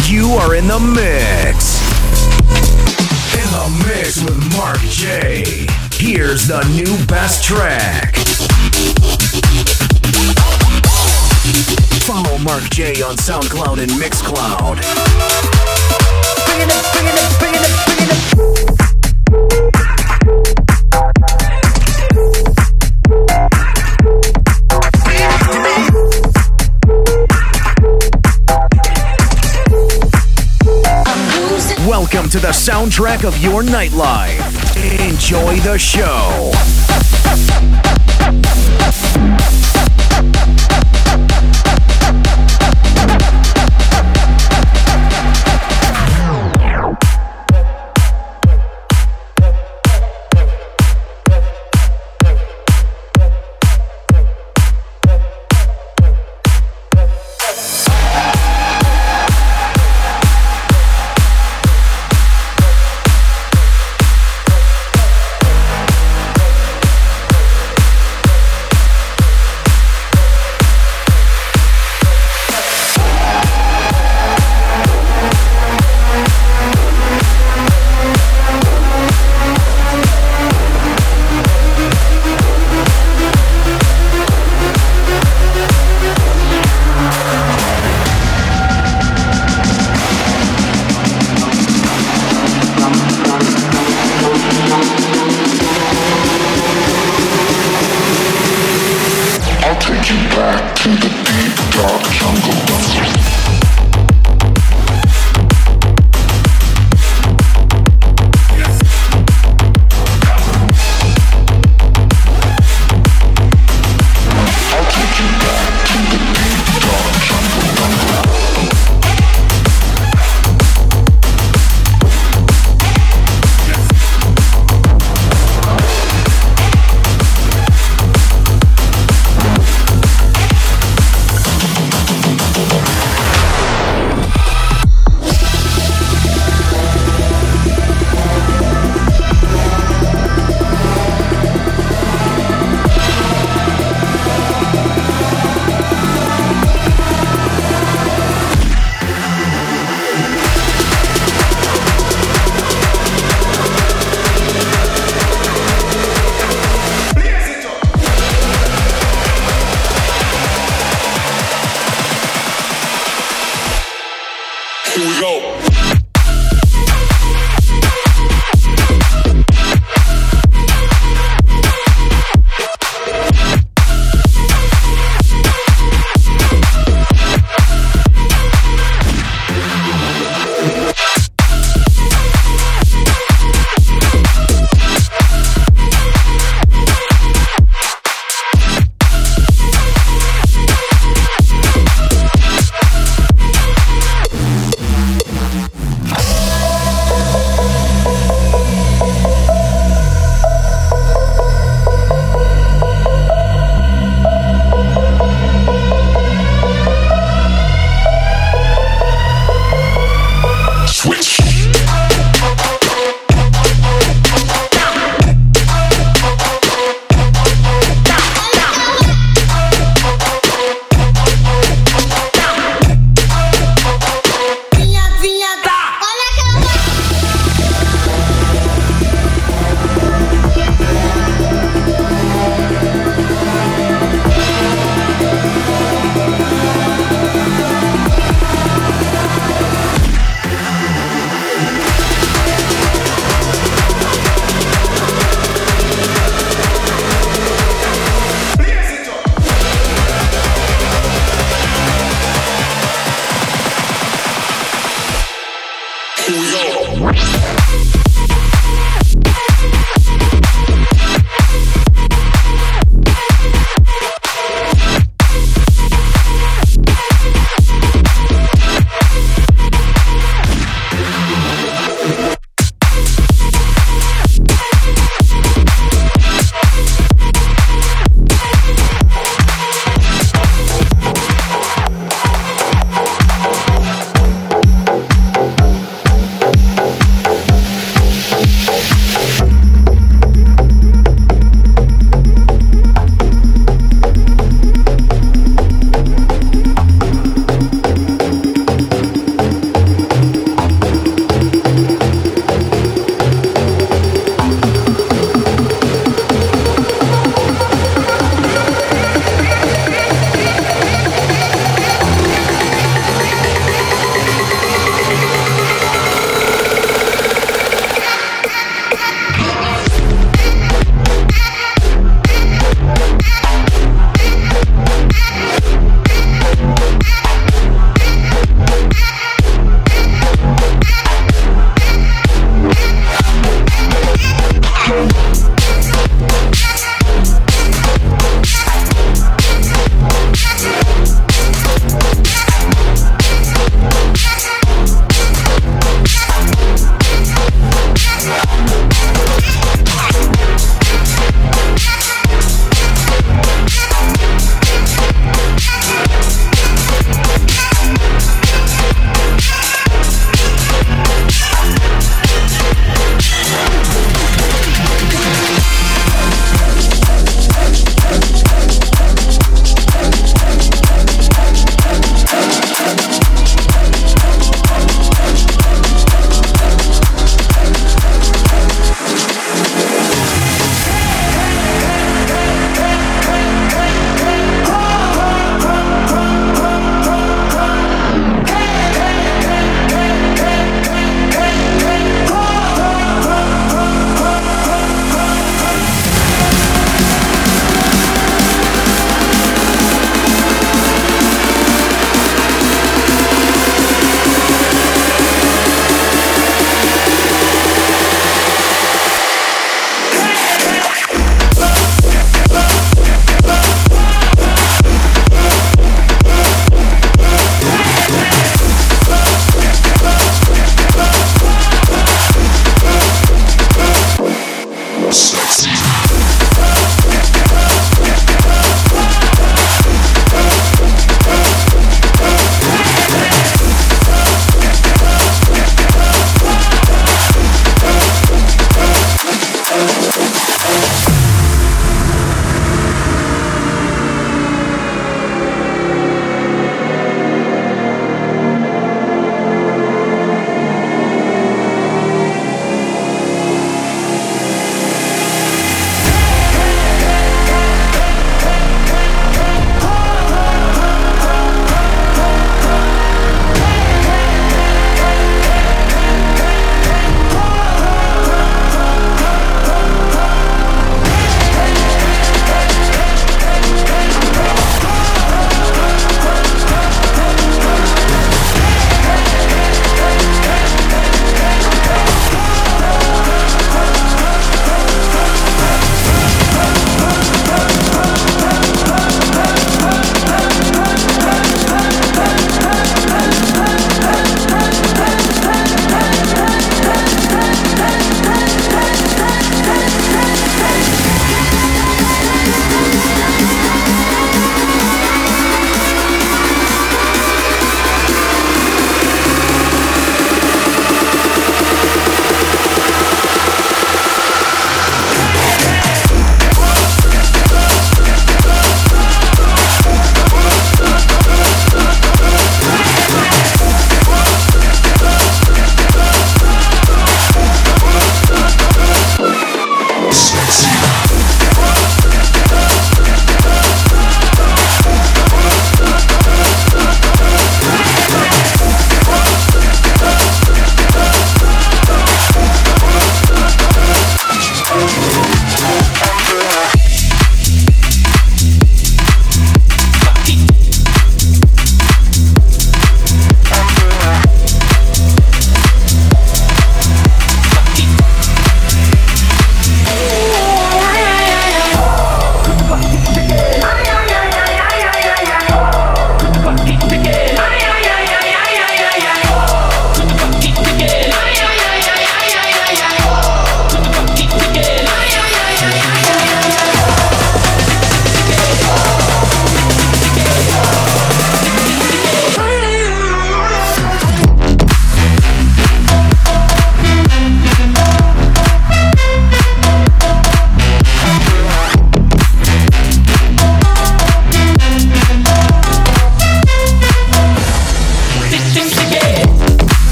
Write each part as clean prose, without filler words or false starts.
You are in the mix. In the mix with Mark J. Here's the new best track. Follow Mark J on SoundCloud and Mixcloud. Bring it up, bring it up, bring it up, bring it up. Welcome to the soundtrack of your nightlife. Enjoy the show.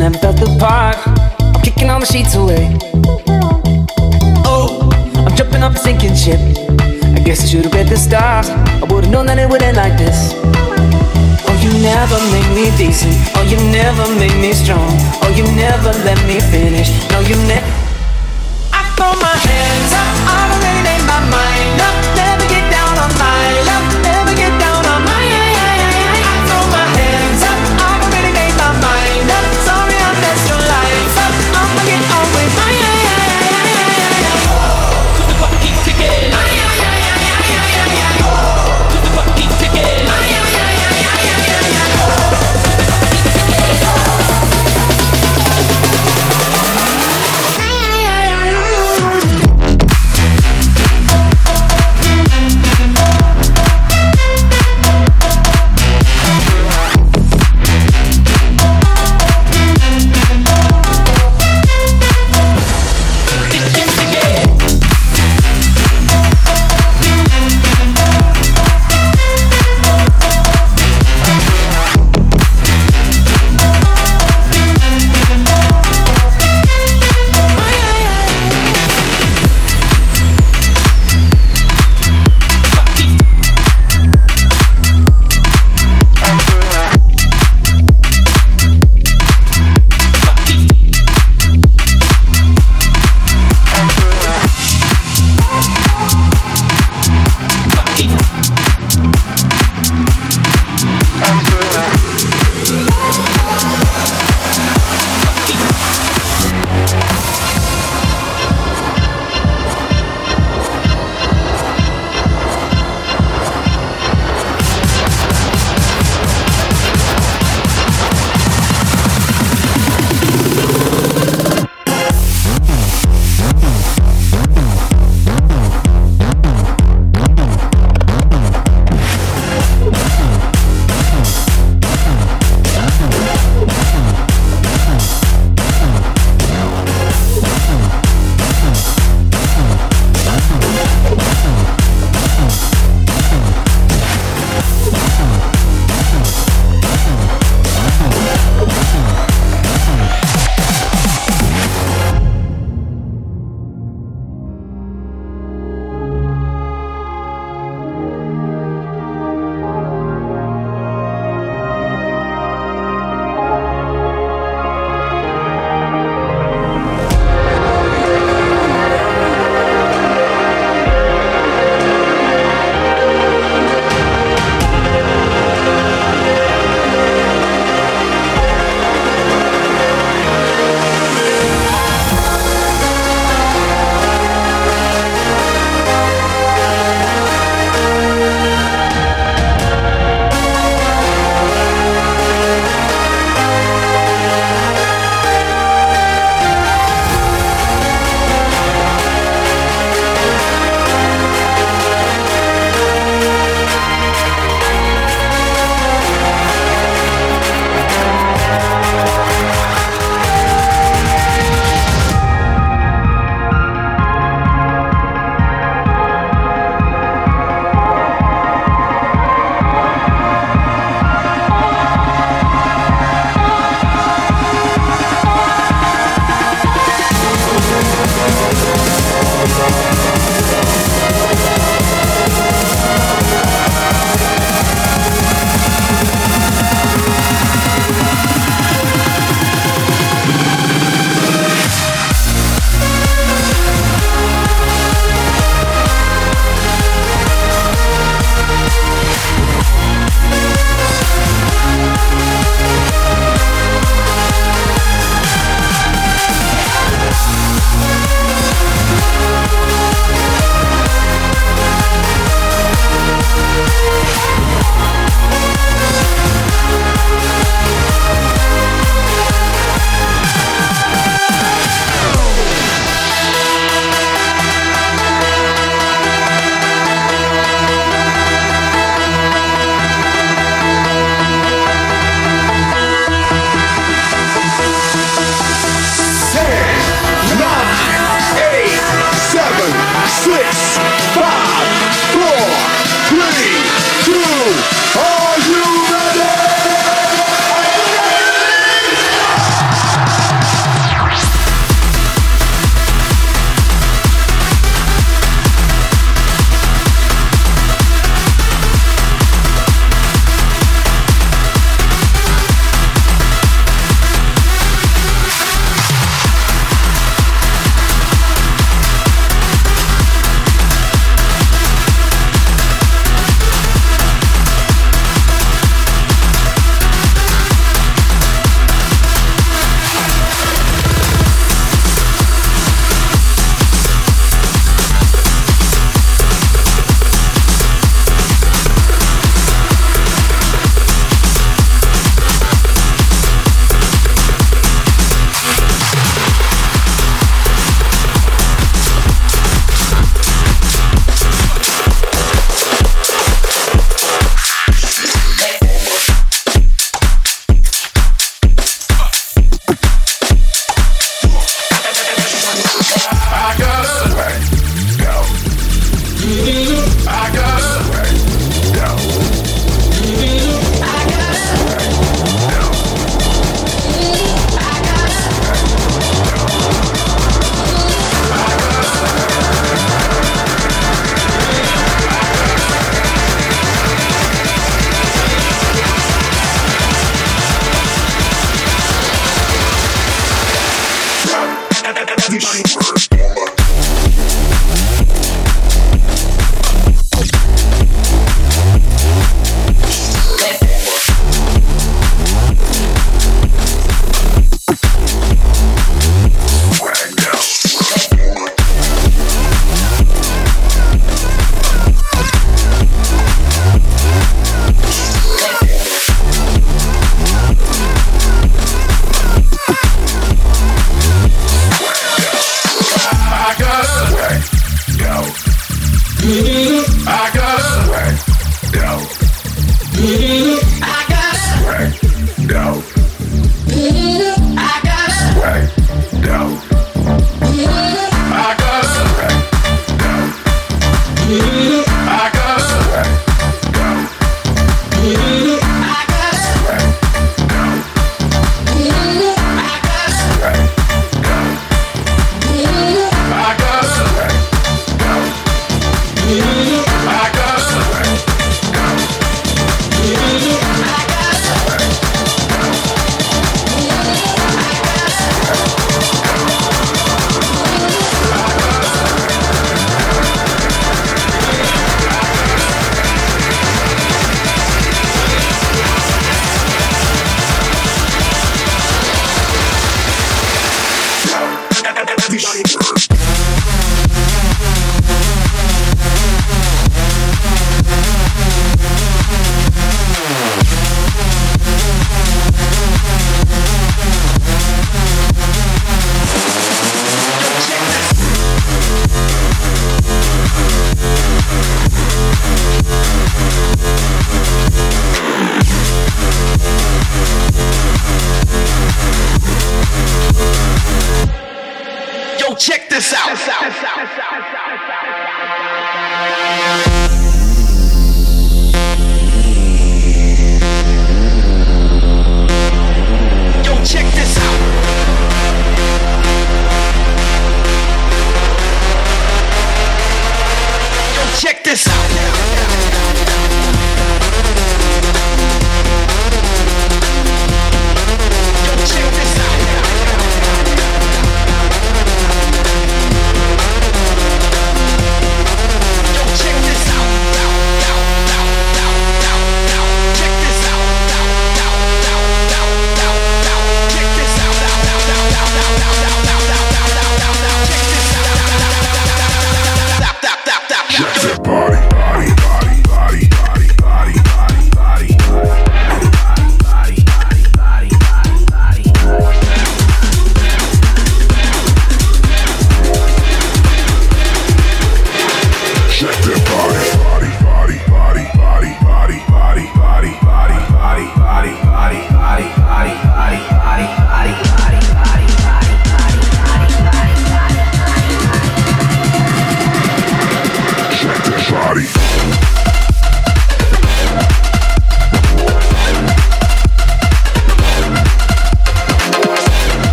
never felt the part. I'm kicking all the sheets away. Oh, I'm jumping off a sinking ship. I guess I should've read the stars. I would've known that it would end like this. Oh, you never make me decent. Oh, you never make me strong. Oh, you never let me finish. No, you never. I throw my hands up. I already made my mind up. Never get down on my luck. Never get down on my. I throw my hands up. I already made my mind up. Sorry I messed your life up. I'ma get on with my. The clock keeps ticking. The clock keeps ticking.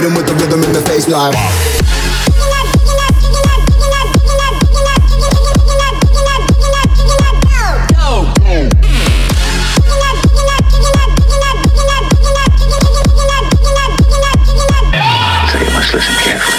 hit him with the rhythm in the face like. So you must listen carefully.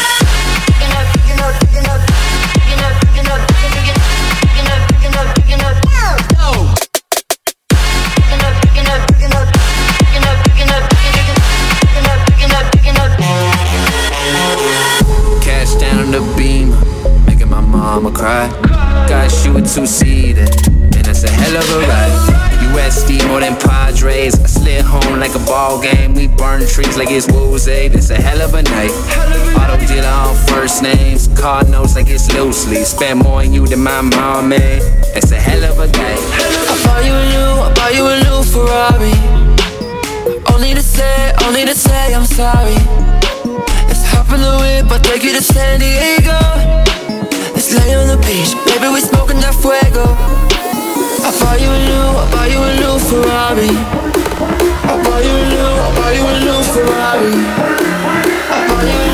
Cash down on the Beamer, making my mama cry. Got you a two-seater, and that's a hell of a ride. USD more than Padres. I slid home like a ball game. We burn trees like it's Woolsey. It's a hell of a night. Auto dealer on first names. Card notes like it's loosely. Spend more on you than my mom made. It's a hell of a day. I bought you a new Ferrari. Only to say I'm sorry. Let's hop in the whip, I'll take you to San Diego. Let's lay on the beach, baby, we smoking that fuego. I bought you a new Ferrari. I bought you a new Ferrari. I bought you a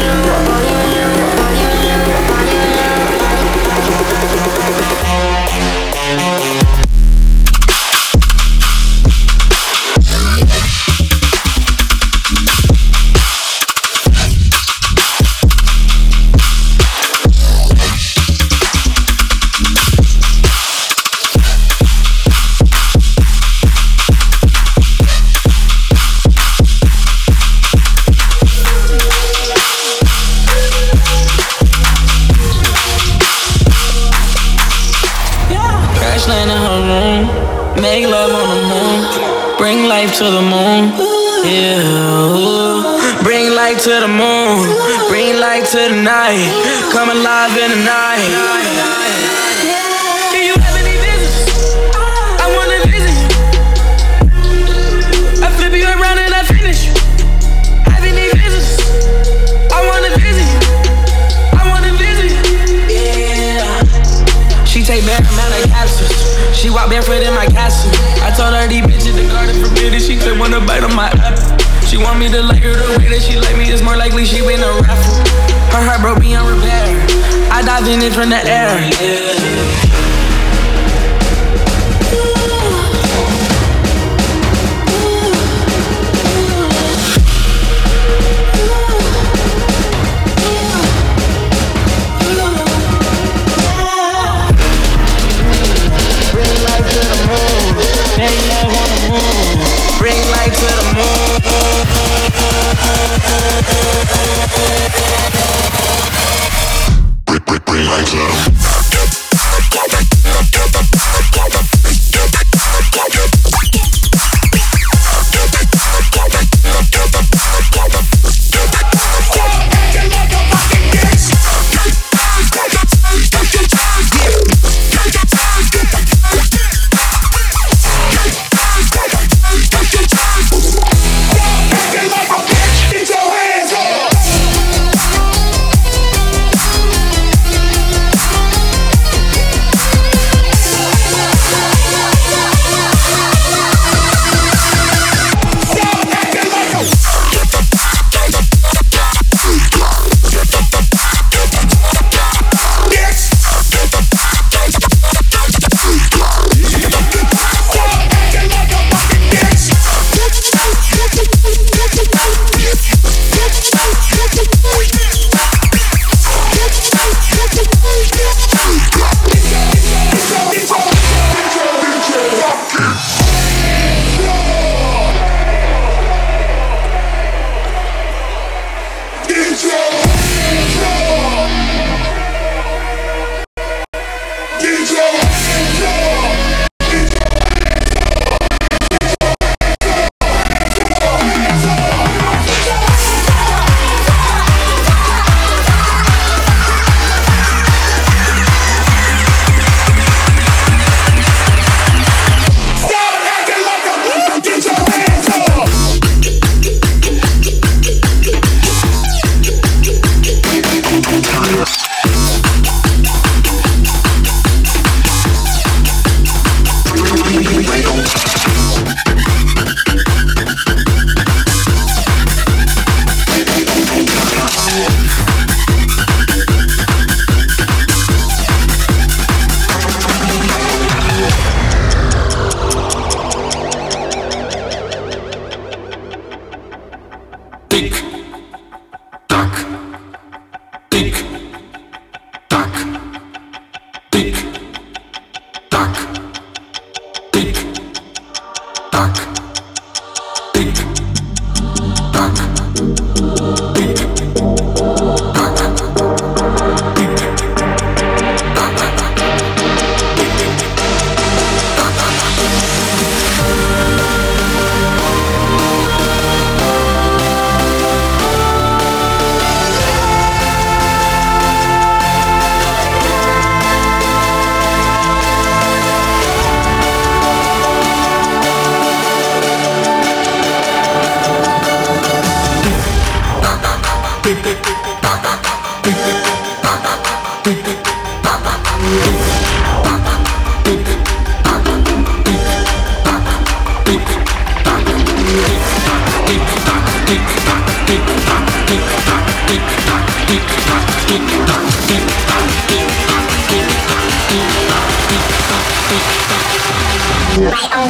make love on the moon, bring life to the moon, yeah. Bring light to the moon, bring light to the night, come alive in the night. Do you have any business? I wanna visit you. I flip you around and I finish you. Have any business? I wanna visit you. I wanna visit you. Yeah. She take back amount of capsules. She walk barefoot in my castle. I told her these bitches the garden forbidden. She could wanna bite on my apple. She want me to like her the way that she like me. It's more likely she win a raffle. Her heart broke beyond repair. I dive in it from the air. Yeah. Bring light to the moon. Bring light to the moon.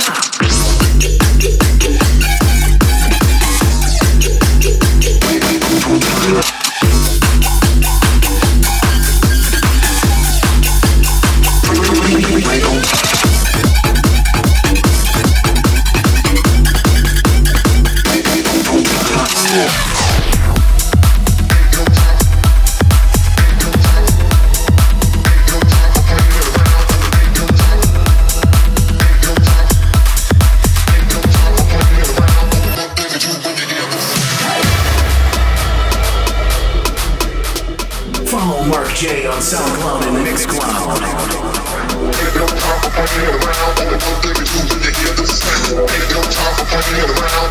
Follow Mark J on SoundCloud and Mixcloud. Ain't no time for playing around. Only one thing to do when you hear the sound. Ain't no time for playing around.